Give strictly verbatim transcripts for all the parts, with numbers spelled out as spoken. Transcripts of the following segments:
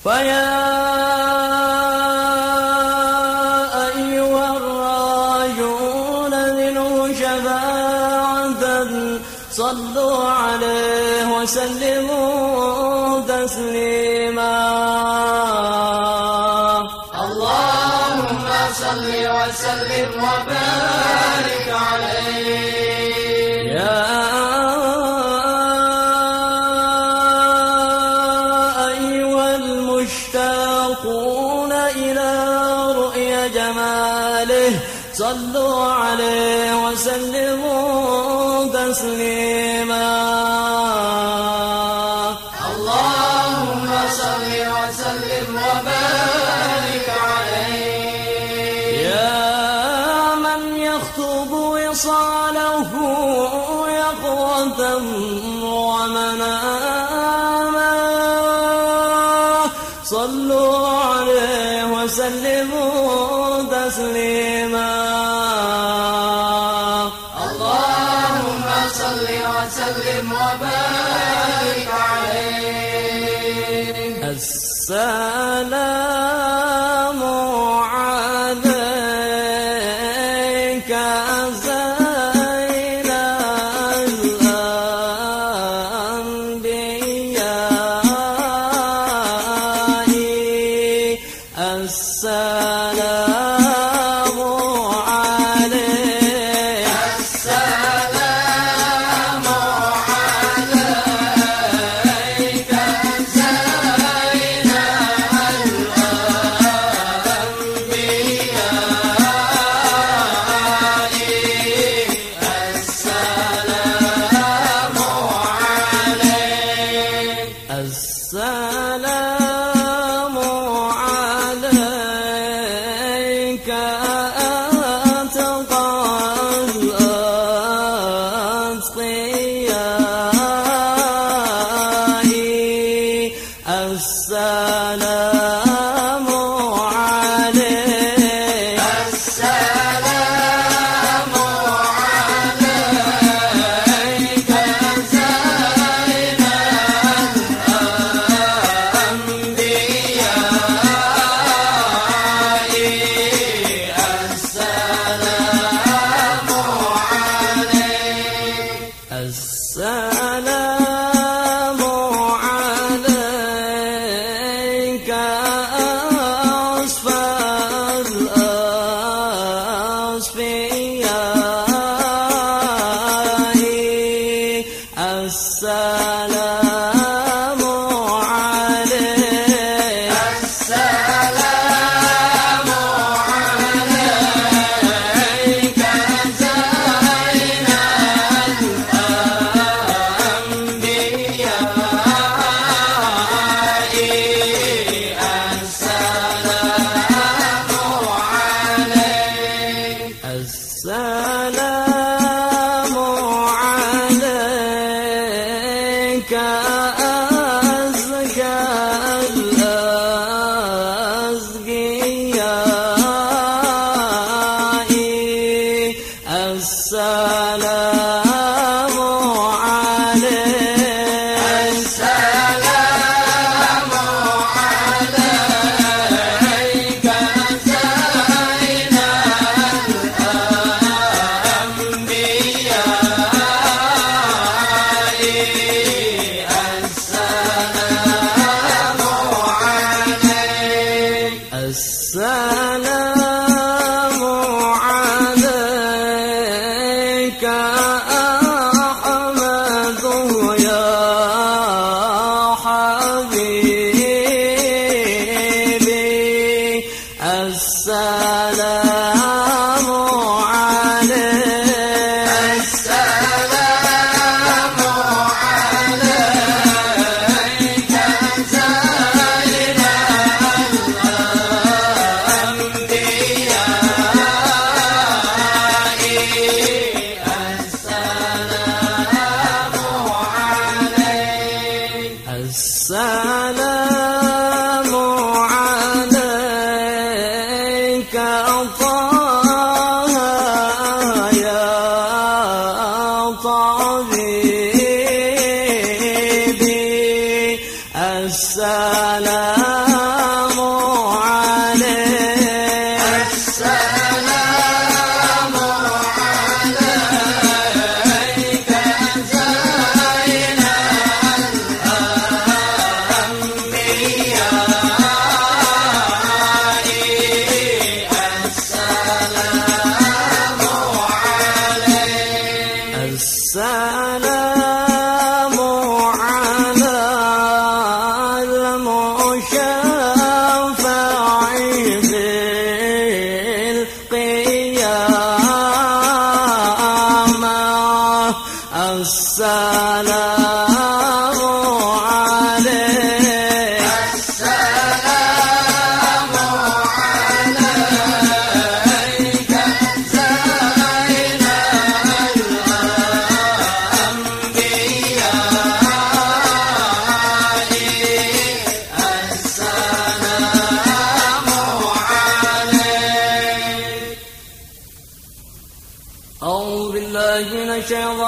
فيا أيها الراجون منه شفاعة صلوا عليه وسلموا تسليما. اللهم صل وسلم وبارك عليه. يا أيها المشتاقون إلى رؤيا جماله صلوا عليه وسلموا تسليما. اللهم صل وسلم وبارك عليه. يا من يخطب وصاله يقظة ومناما صلوا عليه وسلموا تسليما. اللهم صل وسلم وبارك عليه. السلام عليك زين الأنبياء. السلام عليك. السلام عليك زين الأنبياء. السلام عليك. السلام عليك أتقى الأتقياء. السلام عليك. السلام عليك زين الأنبياء. السلام عليك. السلام عليك. السلام عليك زين الأنبياء. السلام عليك. السلام عليك أزكى الأزكياء. السلام عليك. السلام عليك زين الأنبياء. السلام عليك. السلام عليك أحمد يا حبيبي. السلام عليك. السلام عليك زين السلام عليك طه يا طبيبي. السلام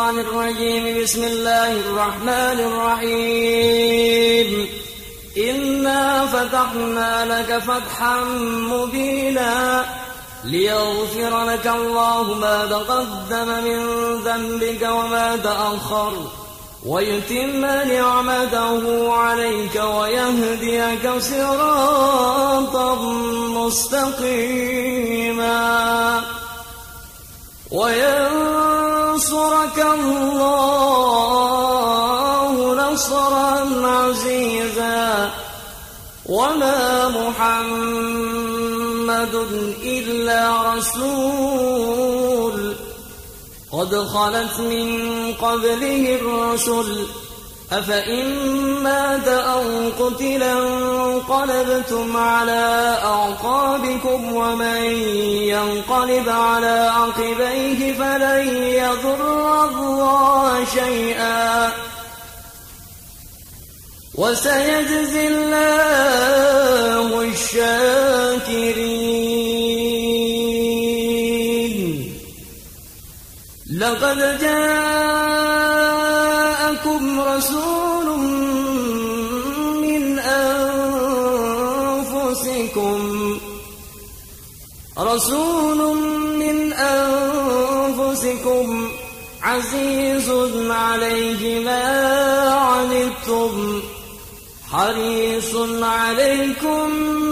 الشيطان الرجيم. بسم الله الرحمن الرحيم. إنا فتحنا لك فتحا مبينا ليغفر لك الله ما تقدم من ذنبك وما تأخر ويتم نعمته عليك ويهديك صراطا مستقيما وينصرك الله نصرا عزيزا. وما محمد إلا رسول قد خلت من قبله الرسل أفإن مات أو قتلا انقلبتم على أعقابكم ومن ينقلب على عقبيه فلن يضر الله شيئا وسيجزي الله الشاكرين. لقد جاءكم رسول من أنفسكم رسول من أنفسكم عزيز عليه ما عنتم حريص عليكم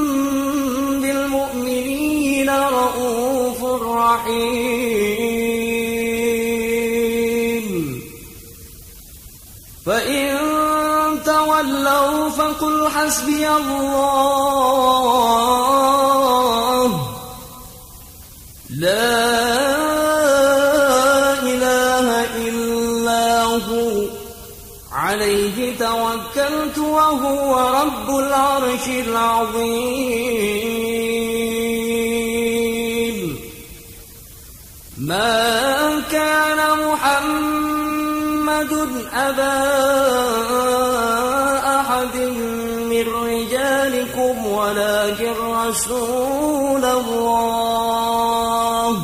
بالمؤمنين رؤوف رحيم. فإن تولوا فقل حسبي الله لا إله إلا هو عليه توكلت وهو رب العرش العظيم. ما كان محمد أبا أحد من رجالكم ولكن رسول الله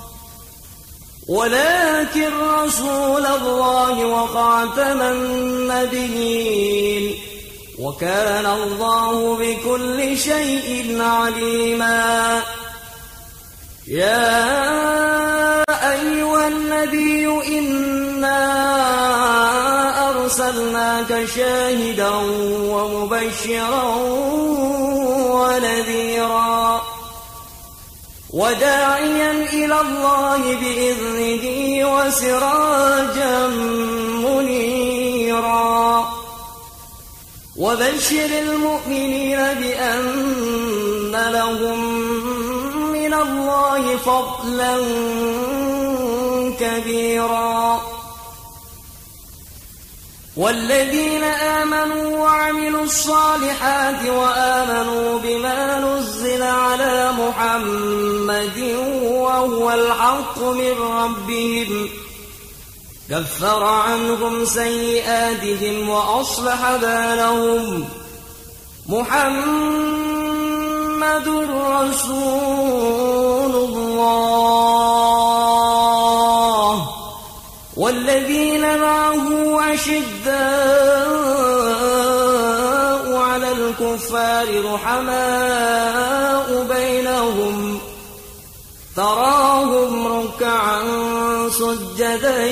ولكن رسول الله وخاتم النبيين وكان الله بكل شيء عليما. يا أيها النبي إنا أرسلناك شاهدا ومبشرا ونذيرا وداعيا إلى الله بإذنه وسراجا منيرا وبشر المؤمنين بأن لهم من الله فضلا كبيرا. والذين آمنوا وعملوا الصالحات وآمنوا بما نزل على محمد وهو الحق من ربهم كفر عنهم سيئاتهم وأصلح بالهم. محمد رسول الله والذين معه أشداء على الكفار رحماء بينهم تراهم ركعا سجدا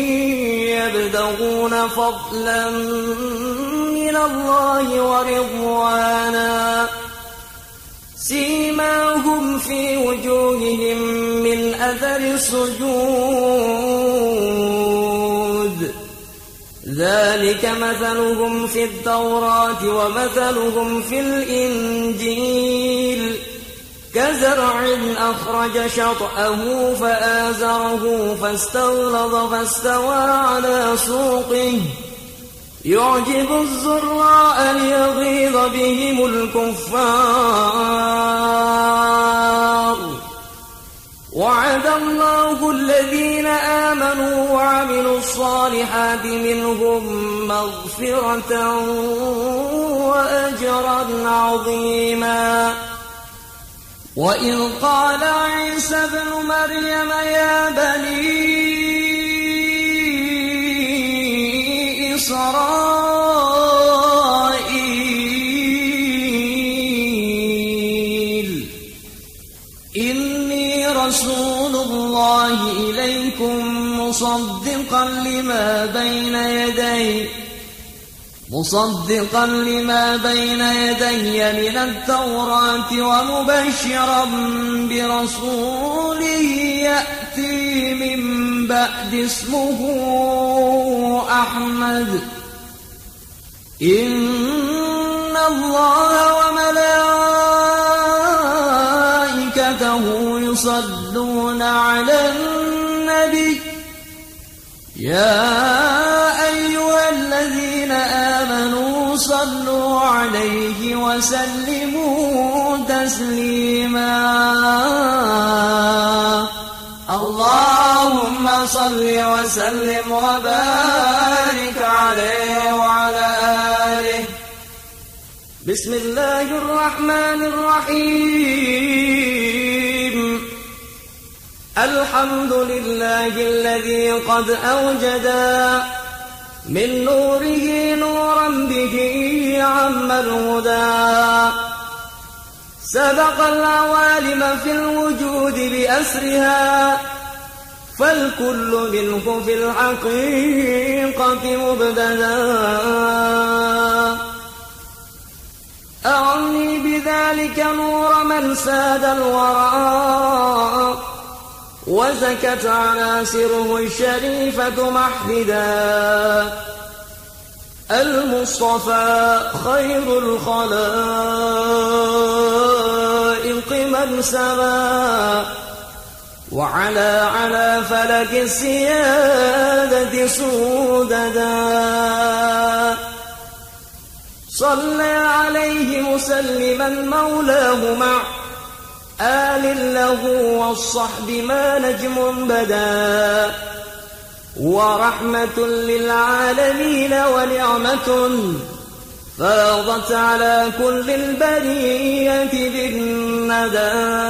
يبتغون فضلا من الله ورضوانا سيماهم في وجوههم من أثر السجود ذلك مثلهم في التوراة ومثلهم في الإنجيل كزرع أخرج شطأه فآزره فاستغلظ فاستوى على سوقه يعجب الزراء ليغيظ بهم الكفار. وعد الله الذين آمنوا وعملوا الصالحات منهم مغفرة وأجرا عظيما. وإذ قال عيسى ابن مريم يا بني إسرائيل إني رسول الله إليكم مصدقا لما بين يدي مصدقا لما بين يدي من التوراة ومبشرا برسول يأتي من بعد اسمه أحمد إن الله وملائكته يصلون على النبي يا أيها الذين آمنوا صلوا عليه وسلموا تسليما اللهم صل وسلم وبارك عليه وعلى آله. بسم الله الرحمن الرحيم. الحمد لله الذي قد أوجد من نوره نورا به عم الهدى سبق العوالم في الوجود بأسرها فالكل منه في الحقيقة مبتدى أعني بذلك نور من ساد الورى وزكت عناصره الشريفة محمدا المصطفى خير الخلائق من سما وعلى على فلك السيادة سوددا صلى عليه مسلما مولاه مع آل له والصحب ما نجم بدا ورحمة للعالمين ونعمة فاضت على كل البرية بالندى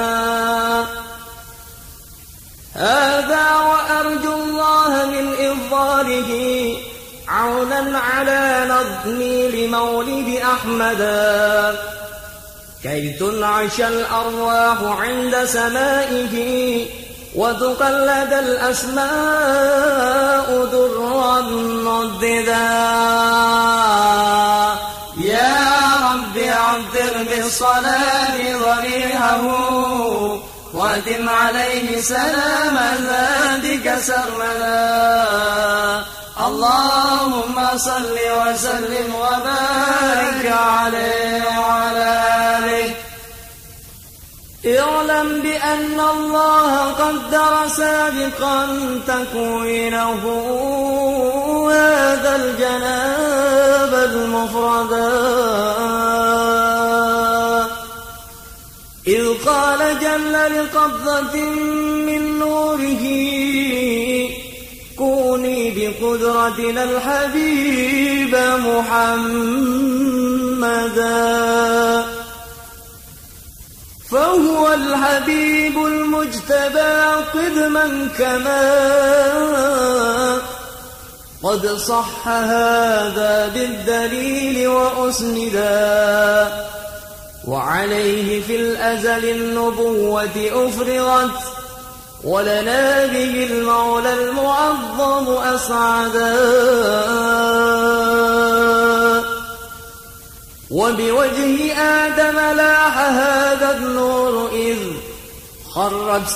هذا وأرجو الله من إظهاره عونا على نظمي لمولد أحمدا كي تنعش الأرواح عند سمائه وتقلد الأسماء درا مرددا يا رب عطر بالصلاة ضريحه وأدم عليه سلام ذاتك سرمدا اللهم صل وسلم وبارك عليه وعلى آله. اعلم بأن الله قدر سابقا تكوينه هذا الجناب المفردا إذ قال جل لقبضة من نوره كوني بقدرتنا الحبيب محمدا فهو الحبيب المجتبى قدما كما قد صح هذا بالدليل وأسندا وعليه في الأزل النبوة أفرغت ولنا به المولى المعظم أسعدا وبوجه آدم لاح هذا النور إذ خرت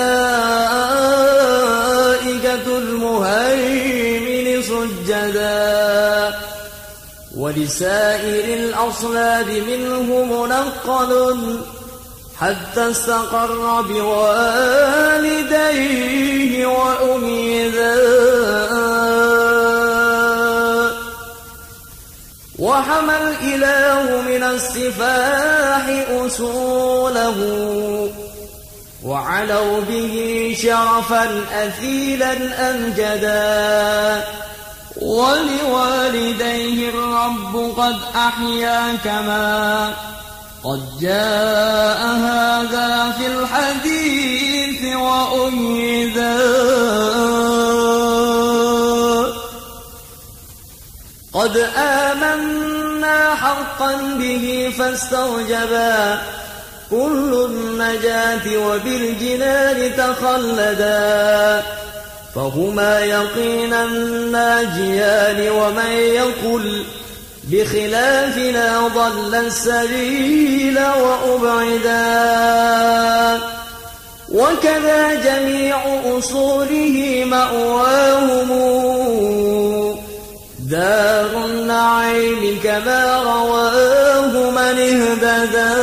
ملائكة المهيمن سجدا ولسائر الأصلاب منه منقل حتى استقر بوالديه وأميدا وحمى الإله من السفاح أصوله وعلوا به شرفا أثيلا أمجدا ولوالديه الرب قد أحيا كما قد جاء هذا في الحديث وأيدا قد آمنا حقا به فاستوجبا كل النجاة وبالجنان تخلدا فهما يقينا ناجيان ومن يقل بخلافنا ضل السبيل وأبعدا وكذا جميع أصوله مأواهم دار النعيم كما رواه من اهتدى.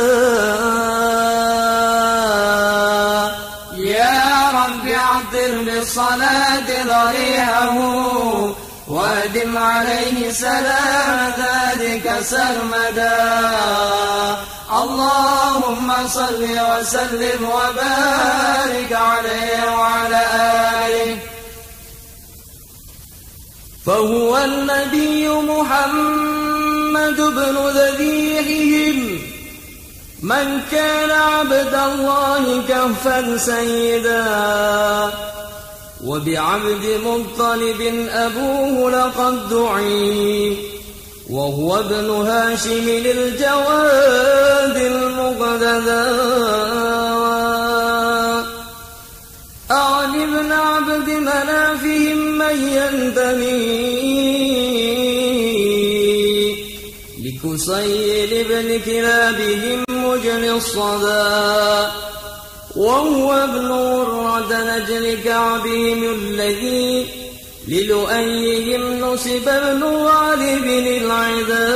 يا رب عطر بالصلاة ضريعه وادم عليه سلام ذلك سرمدا. اللهم صل وسلم وبارك عليه وعلى آله. فهو النبي محمد بن ذبيحهم من كان عبد الله كهفا سيدا وبعبد مطلب أبوه لقد دعي وهو ابن هاشم الجواد المقتدى. أعن ابن عبد منافهم من ينتمي لكسيل ابن كلابهم مجن الصدى وهو ابن ورد نجل كعبهم الذي للؤيهم نسب ابن غالب العدا.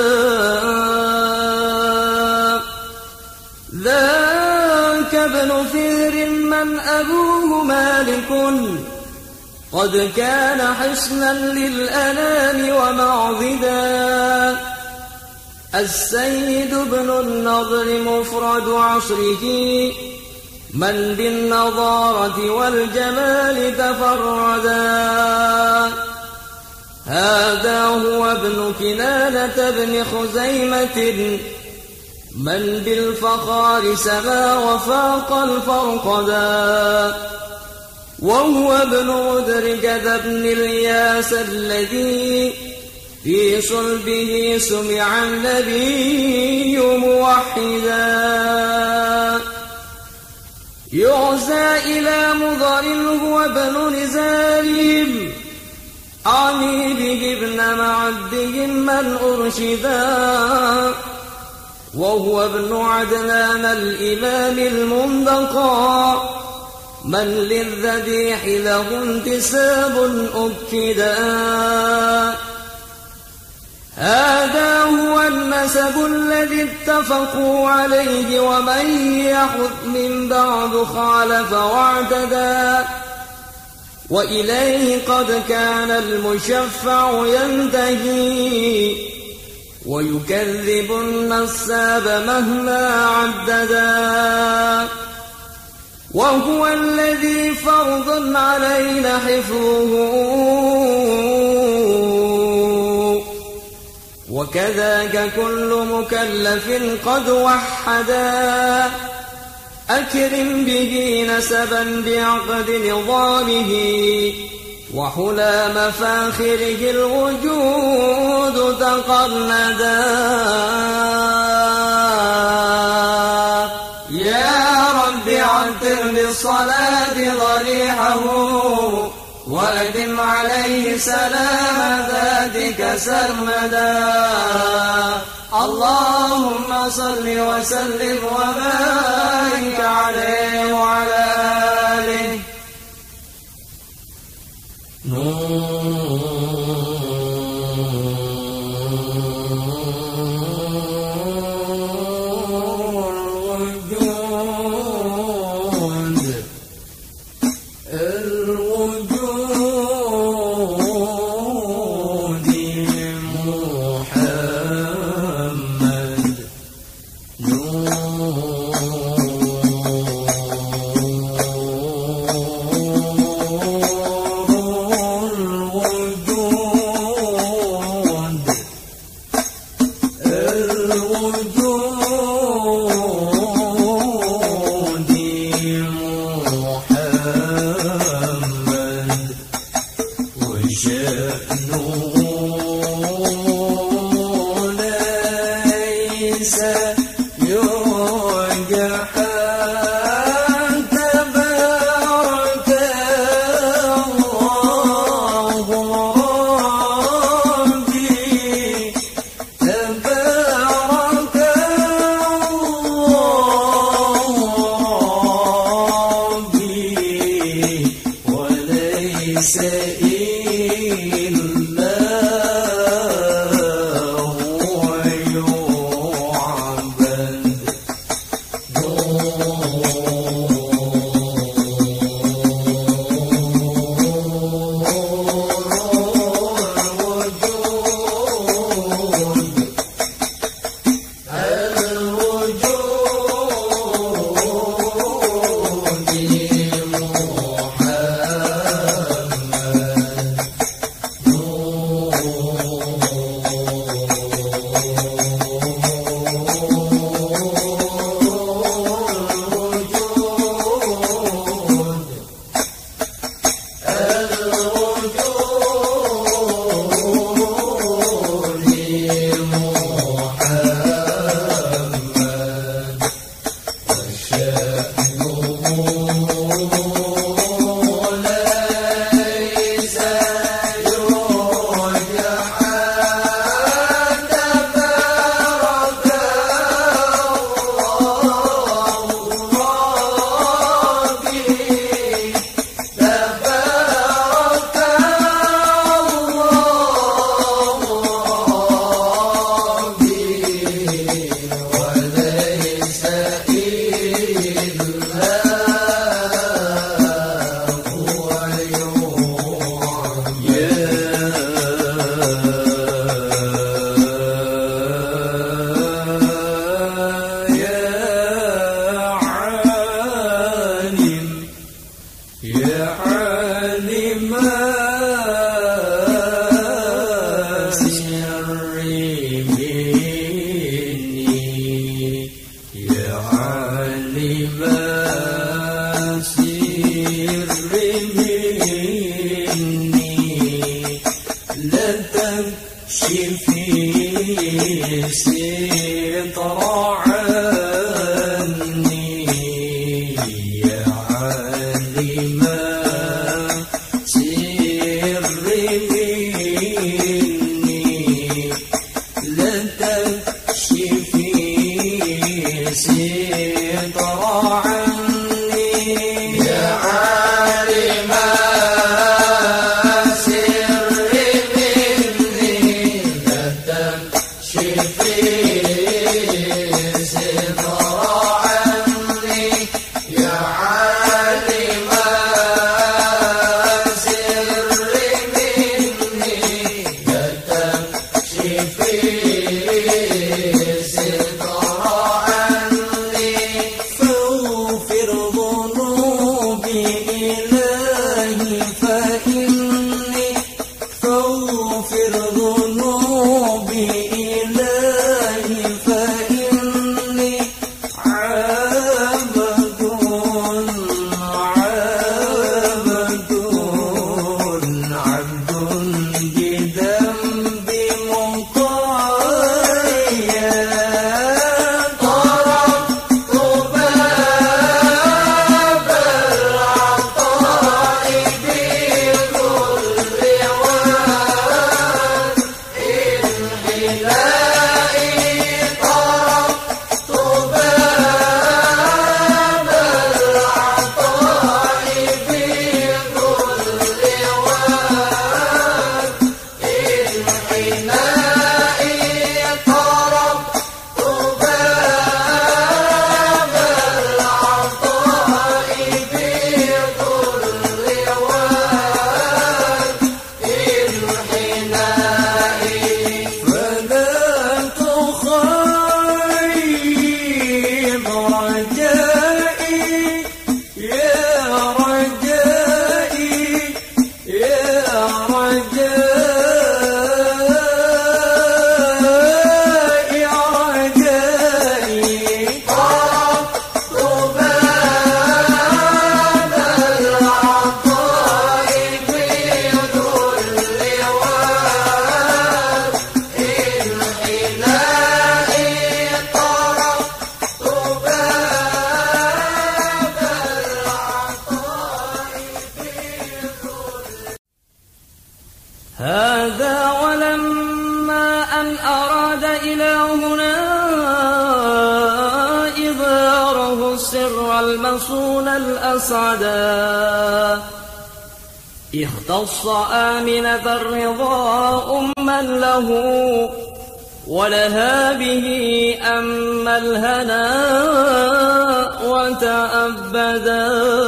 ذاك ابن فهر من أبوه مالك قد كان حصنا للأنام ومعضدا. السيد ابن النضر مفرد عصره من بالنضارة والجمال تفردا. هذا هو ابن كنانة بن خزيمة من بالفخار سما وفاق الفرقدا. وهو ابن مدركة بن الياس الذي في صلبه سمع النبي موحدا. يعزى إلى مضر هو ابن نزارهم أعني به ابن معدهم من أرشدا. وهو ابن عدنان الإمام المنتقى من للذبيح له انتساب أكدا. هذا هو النسب الذي اتفقوا عليه ومن يحث من بعد خالف واعتدى. وإليه قد كان المشفع ينتهي ويكذب النساب مهما عددا. وهو الذي فرض علينا حفظه وكذاك كل مكلف قد وحدا. أكرم به نسبا بعقد نظامه وحلى مفاخره الوجود تقلدا. يا رب عطر بالصلاة ضريحه وأدم عليه سلام ذاتك سرمدا. اللهم صل وسلم وبارك عليه وعلى آله. وشأنه ستر عني يا عالم سر مني لا تكشفي ستر عني يا عالم هذا ولما أن أراد إلهنا إظهاره السر المصون الأسعدا اختص آمنة الرضا أما له ولها به أما الهنا وتأبدا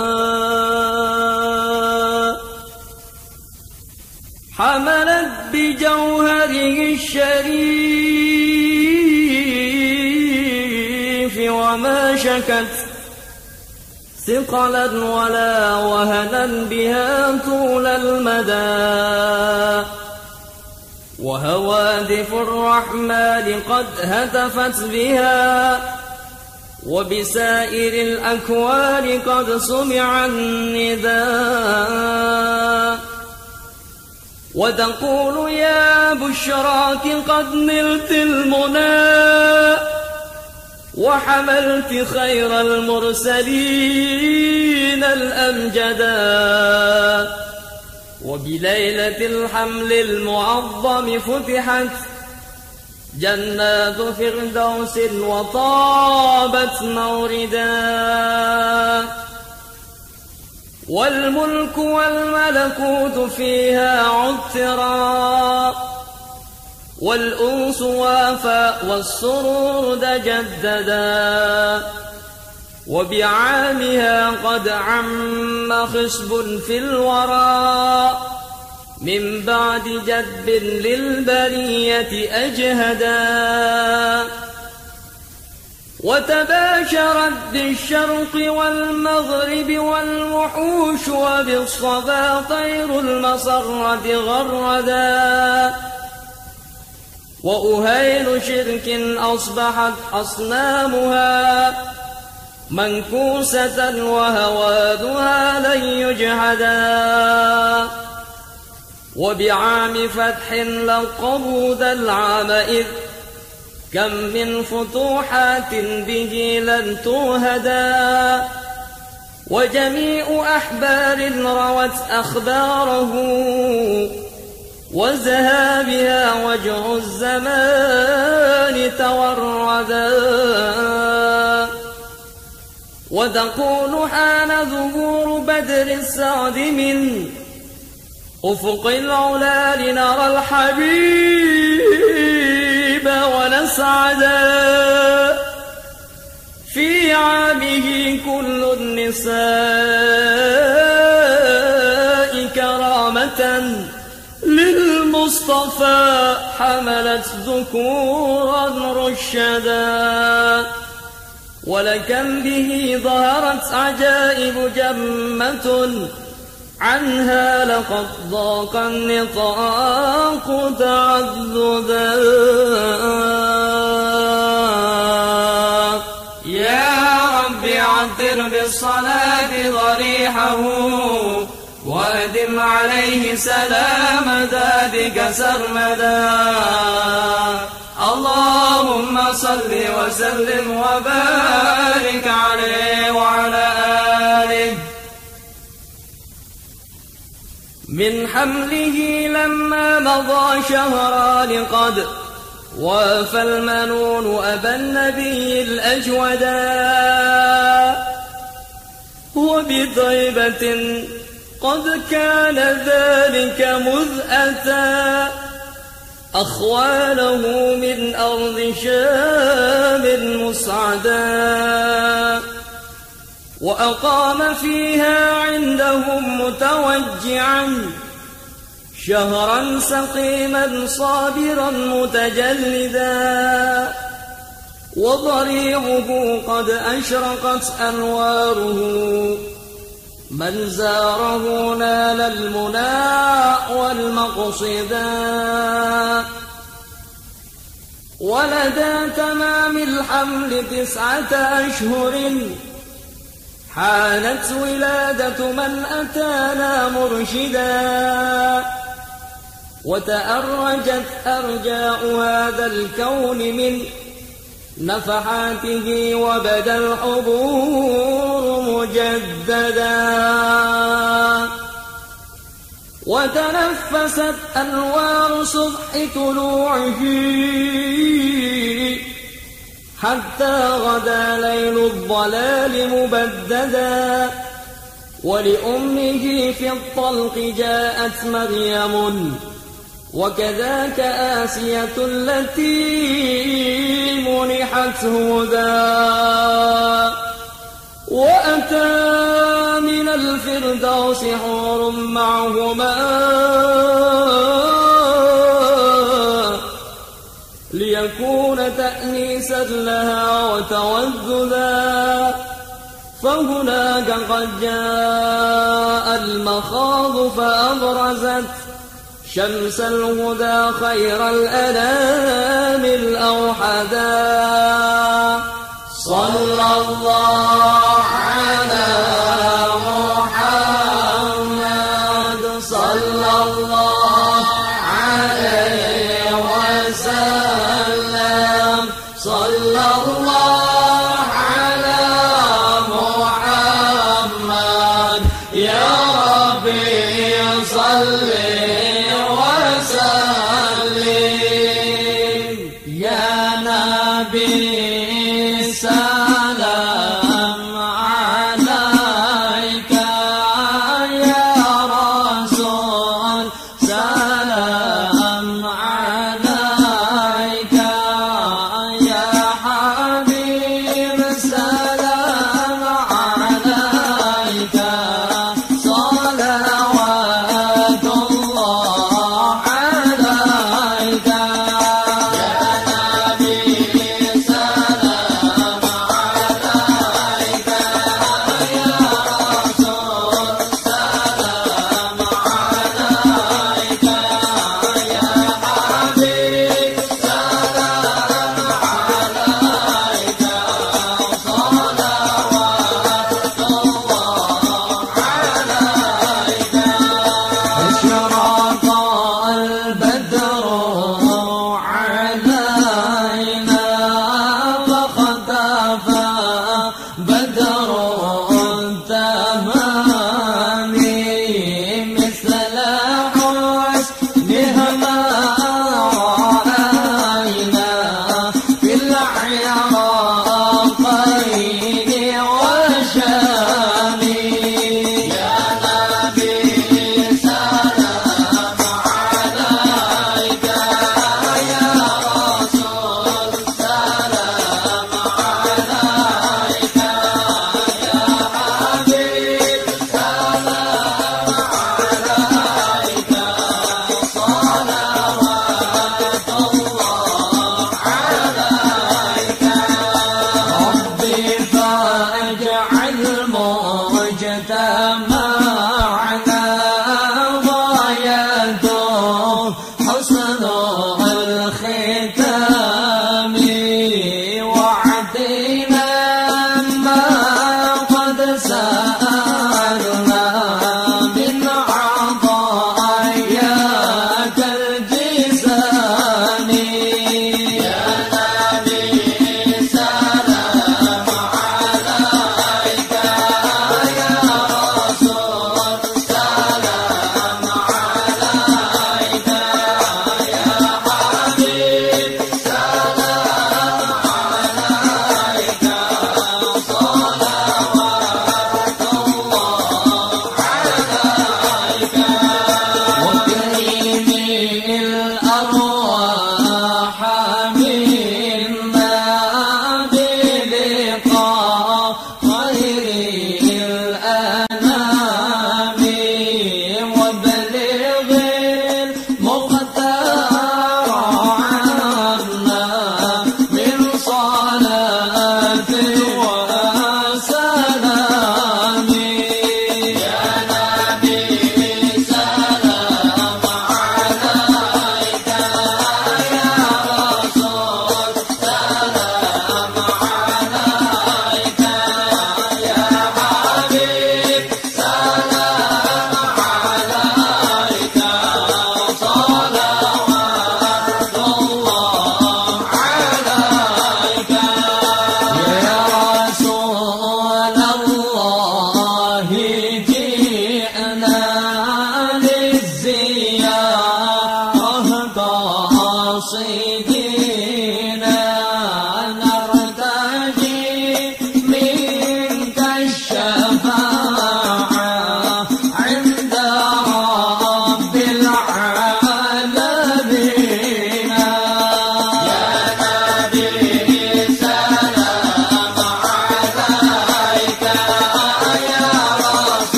حملت بجوهره الشريف وما شكت ثقلا ولا وهنا بها طول المدى وهوادف الرحمن قد هتفت بها وبسائر الأكوان قد سمع النداء وتقول يا بشراك قد نلت المنى وحملت خير المرسلين الأمجدا وبليلة الحمل المعظم فتحت جنات فردوس وطابت موردا والملك والملكوت فيها عطرا والأنس وافى والسرور تجددا وبعامها قد عم خصب في الورى من بعد جذب للبرية أجهدا وتباشرت بالشرق والمغرب والوحوش وبالصبا طير المسرة غردا وأهيل شرك أصبحت أصنامها منكوسة وهوادها لن يجهدا وبعام فتح لقبوا ذا العام إذ كم من فتوحات به لن توهدا، وجميع أحبار روت أخباره، وزهى بها وجه الزمان توردا. وتقول حان ظهور بدر السعد من أفق العلا لنرى الحبيب ونسعدا. في عامه كل النساء كرامة للمصطفى حملت ذكورا رشدا. ولكم به ظهرت عجائب جمة، عنها لقد ضاق النطاق تعددا. يا رب عطر بالصلاة ضريحه، وأدم عليه سلام دادك سرمدا. اللهم صل وسلم وبارك عليه وعلى آله. من حمله لما مضى شهران قد وافى المنون أبا النبي الأجودا، وبطيبة قد كان ذلك مذ أتى أخواله من أرض شام مسعدا. وأقام فيها عندهم متوجعا شهرا سقيما صابرا متجلدا. وضريعه قد أشرقت أنواره، من زاره نال المنى والمقصدا. ولدى تمام الحمل تسعة أشهر حانت ولادة من أتانا مرشدا. وتأرجت أرجاء هذا الكون من نفحاته، وبدا الحضور مجددا. وتنفست أنوار صبح طلوعه حتى غدا ليل الضلال مبددا. ولأمه في الطلق جاءت مريم، وكذاك آسية التي منحت هدى. وأتى من الفردوس حور معهما ليكون تأنيسا لها وتوذدا. فهناك قد جاء المخاض فأبرزت شمس الهدى خير الأنام الأوحدا. صلى الله على محمد، صلى الله عليه وسلم، صلى الله على محمد. يا ربي صل وسلم. يا نبي سلام عليك، يا رسول سلام عليك، يا حبيب سلام عليك. صلوات الله عليك. يا نبي سلام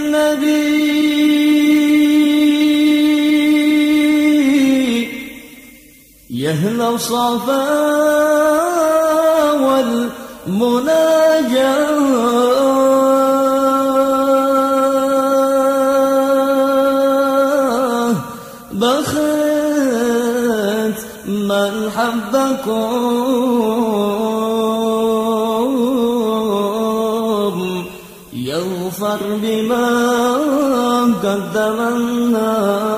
النبي يهل الصفا والمناجاة بخت من حبكم يغفر بما قدمنا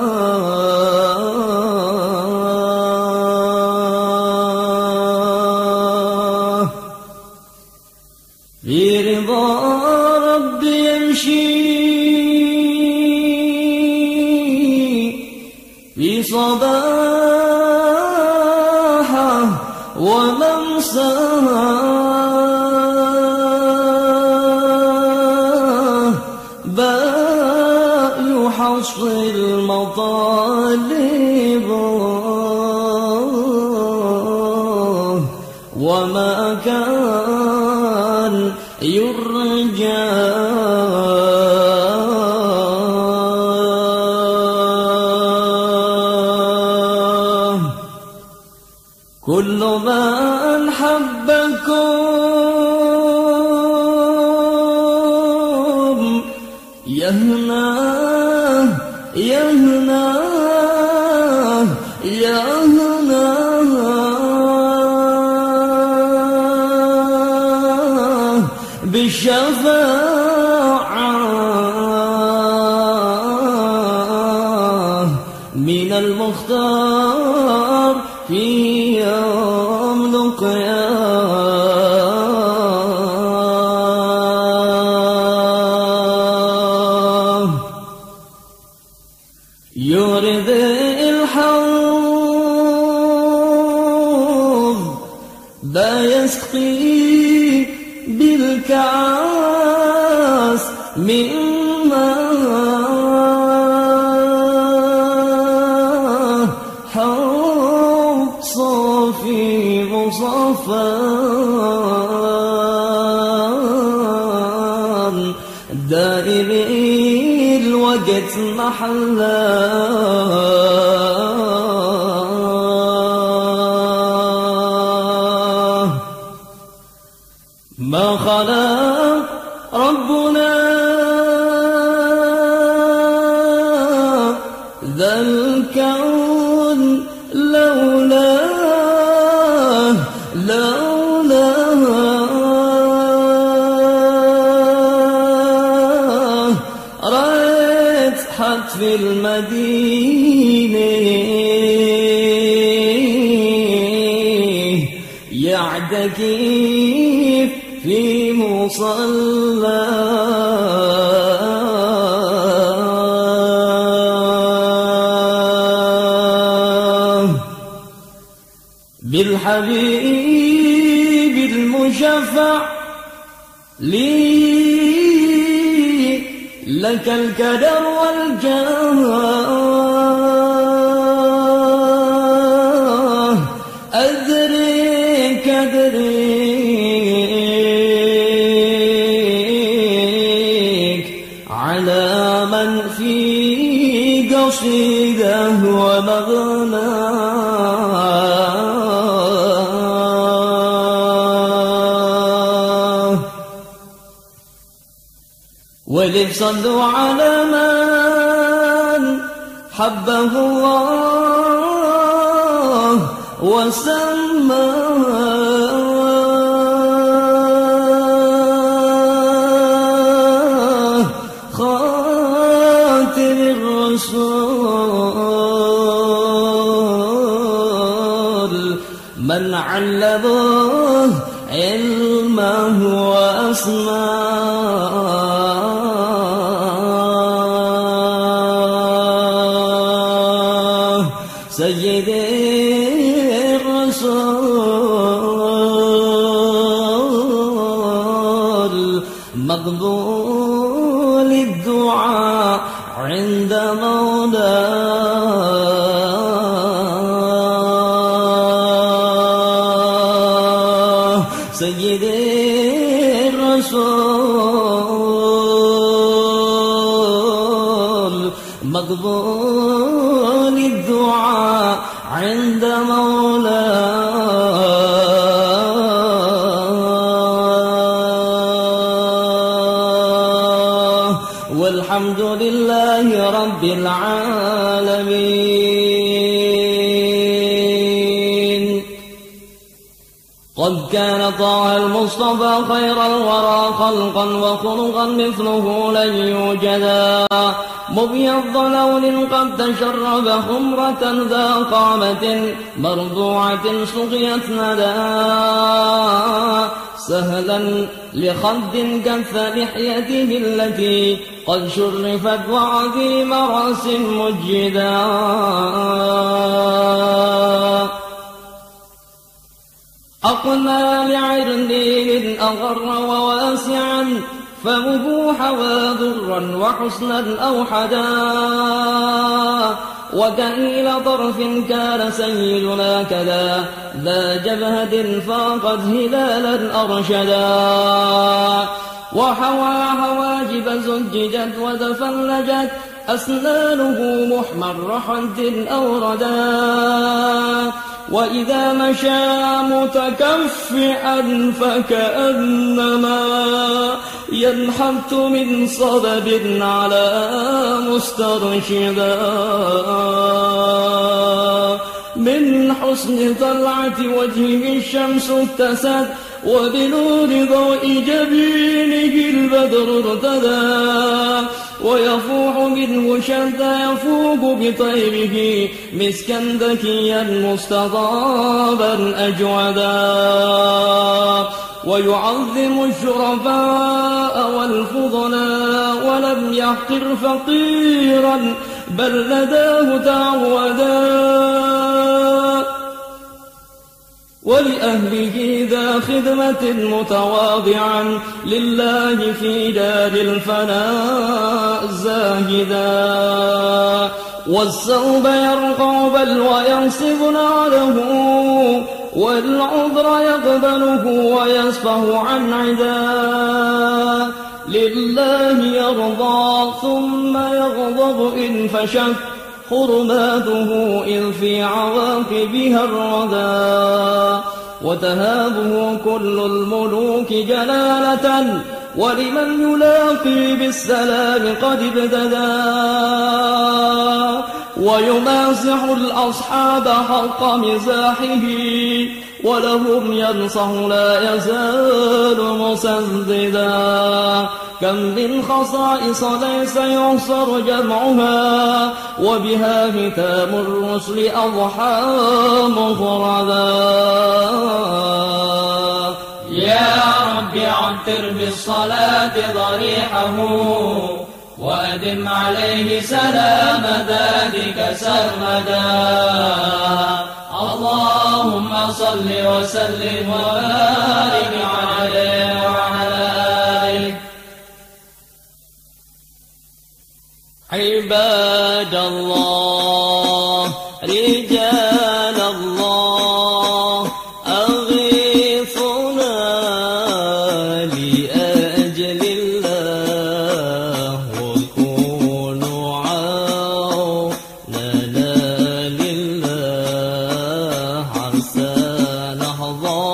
في رضا ربي يمشي في صباحه وممساه باء يحصي المطالب وما كان يرجى كل من حبكم يهنى يهنى يهنى بالشفاعة من المختار في يوم القيامة يورد الحوض لا يسقي بالكاس من ماء حوض صافي مصفى دائم الوقت محله ما خلق ربنا ذا الكون لولاه لولاه رأيت حد في المدينة يعتكف في مصلى بالحبيب المشفع لي لك الكدر والجاه أدرك أدرك على من في قصيده ومغناه ولذ صلوا على من حبه الله وسماه خاتم الرسول من علمه علمه وأسماه سيدي الرسول مقبول الدعاء عند مولاه سيدي الرسول مقبول الدعاء عند مولاه والحمد لله رب العالمين. قد كان طه المصطفى خير الورى خلقا وخلقا مثله لن يوجدا مبيض لون قد تشرب خمرة ذا قامة مرضوعة سقيت ندى سهلا لخد كف لحيته التي قد شرفت وعظيم رأس مجدا أقنى لعرنين أغر وواسعا فمه حوى ذرا وحسنا أوحدا وكهيل طرف كان سيدنا كذا ذا جبهة فاقت هلالا أرشدا وحوى حواجب زججت وتفلجت أسنانه محمر حد أوردا وإذا مشى متكفئا فكأنما ينحت من صبب على مسترشدا من حسن طلعة وجهه الشمس اتست وبنور ضوء جبينه البدر ارتدى ويفوح منه شتى يفوق بطيبه مسكا ذكيا مستطابا أجودا ويعظم الشرفاء والفضلاء ولم يحقر فقيرا بل لداه تعودا ولأهله ذا خدمة متواضعا لله في دار الفناء زاهدا والثوب يرقع بل وينصب نعله والعذر يقبله ويصفه عن عدا لله يرضى ثم يغضب إن فشت حرماته إذ في عواقبها الردى وتهابه كل الملوك جلالة ولمن يلاقي بالسلام قد ابتدى ويمازح الأصحاب حق مزاحه ولهم ينصح لا يزال مسددا كم من خصائص ليس يحصر جمعها وبها ختام الرسل أضحى مفردا يا رب عطر بالصلاة ضريحه وأدم عليه سلام ذاتك سرمدا اللهم صل وسلم وبارك عليه وعلى آله. عباد الله رجال الله أغيثنا لأجل الله وكونوا عوننا لله عسى نحظى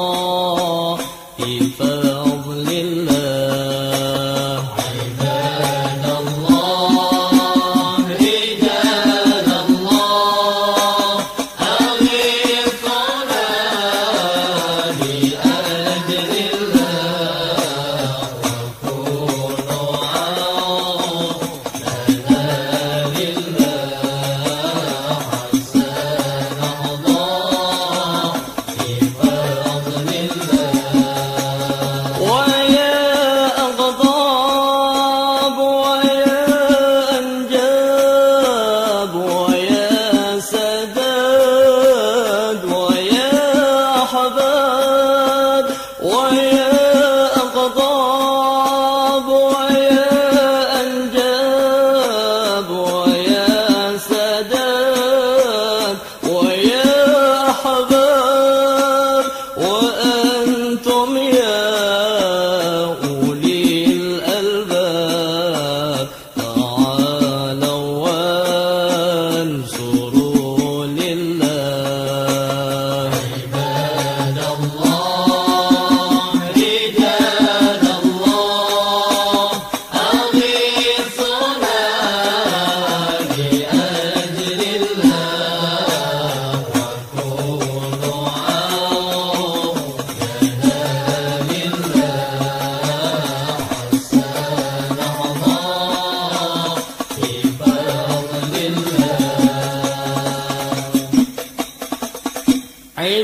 بفضل الله. عباد الله رجال الله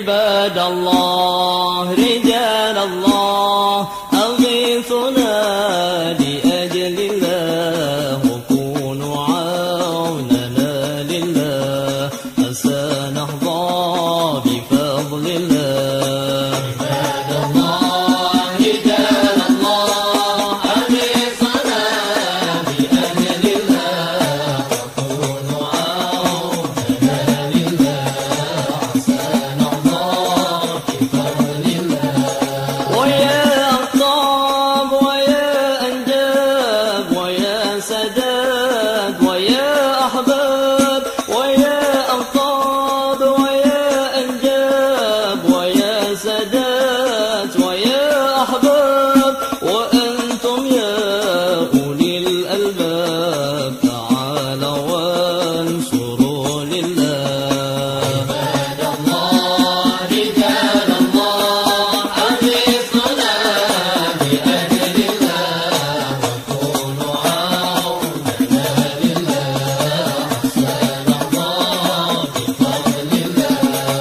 عباد الله رجال الله أغيثنا لأجل الله وكونوا عوننا لله حتى نحظى بفضل الله عباد الله رجال الله أغيثنا لأجل الله وكونوا عوننا لله حتى نحظى بفضل الله ويا أقطاب ويا أنجاب ويا سداد ويا أحباب ويا أقطاب ويا أنجاب ويا سداد ويا أحباب وأنتم يا أولي الألباب تعالوا وانصروا لله عباد الله رجال الله أغيثنا بأجل الله وكونوا عوننا لله حتى نحظى بفضل الله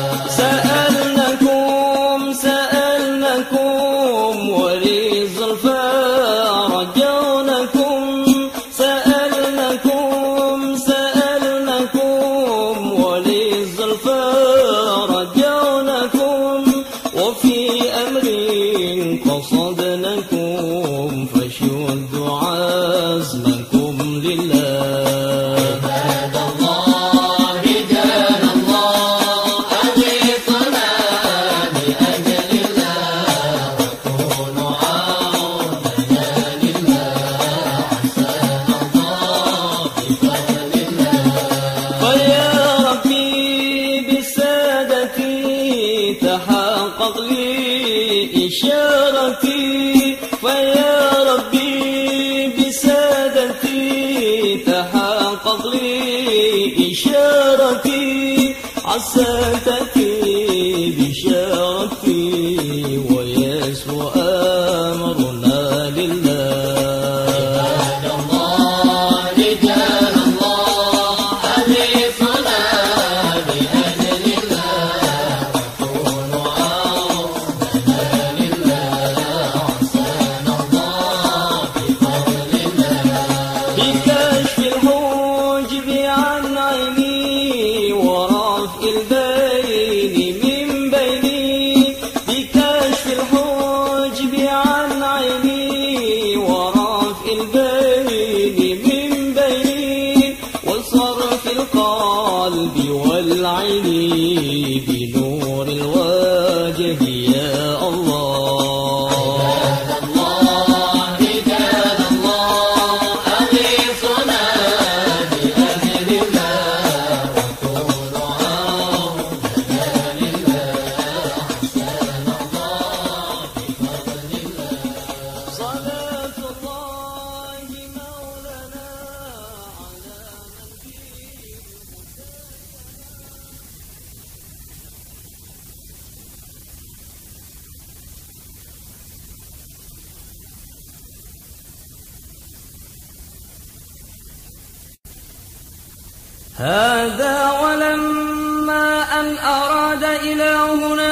سألناكم سألناكم ولي الزلفى رجونكم سألناكم سألناكم ولي الزلفى رجونكم وفي أمر قصدناكم فشدوا عزمكم لله عباد الله رجال الله أغيثنا بأجل الله وكونوا عوننا لله حتى نحظى بفضل الله فيا ربي بسادتي تحقق لي إشارتي فيا ربي بسادتي تحقق لي إشارتي عسى تأتي بشارتي ويسر أمرنا لله عباد الله رجال الله أغيثنا بأجل الله وكونوا عوننا لله حتى نحظى بفضل الله بكشف الحجب عن عيني ورفع البين من بيني بكشف الحجب عن عيني ورفع البين من بيني وصرف القلب والعين بنور الوجه يا الله عباد الله رجال الله أغيثنا بأجل الله وكونوا عوننا لله حتى نحظى بفضل الله صلاة الله مولانا على من فيه هذا ولما أن أراد إلهنا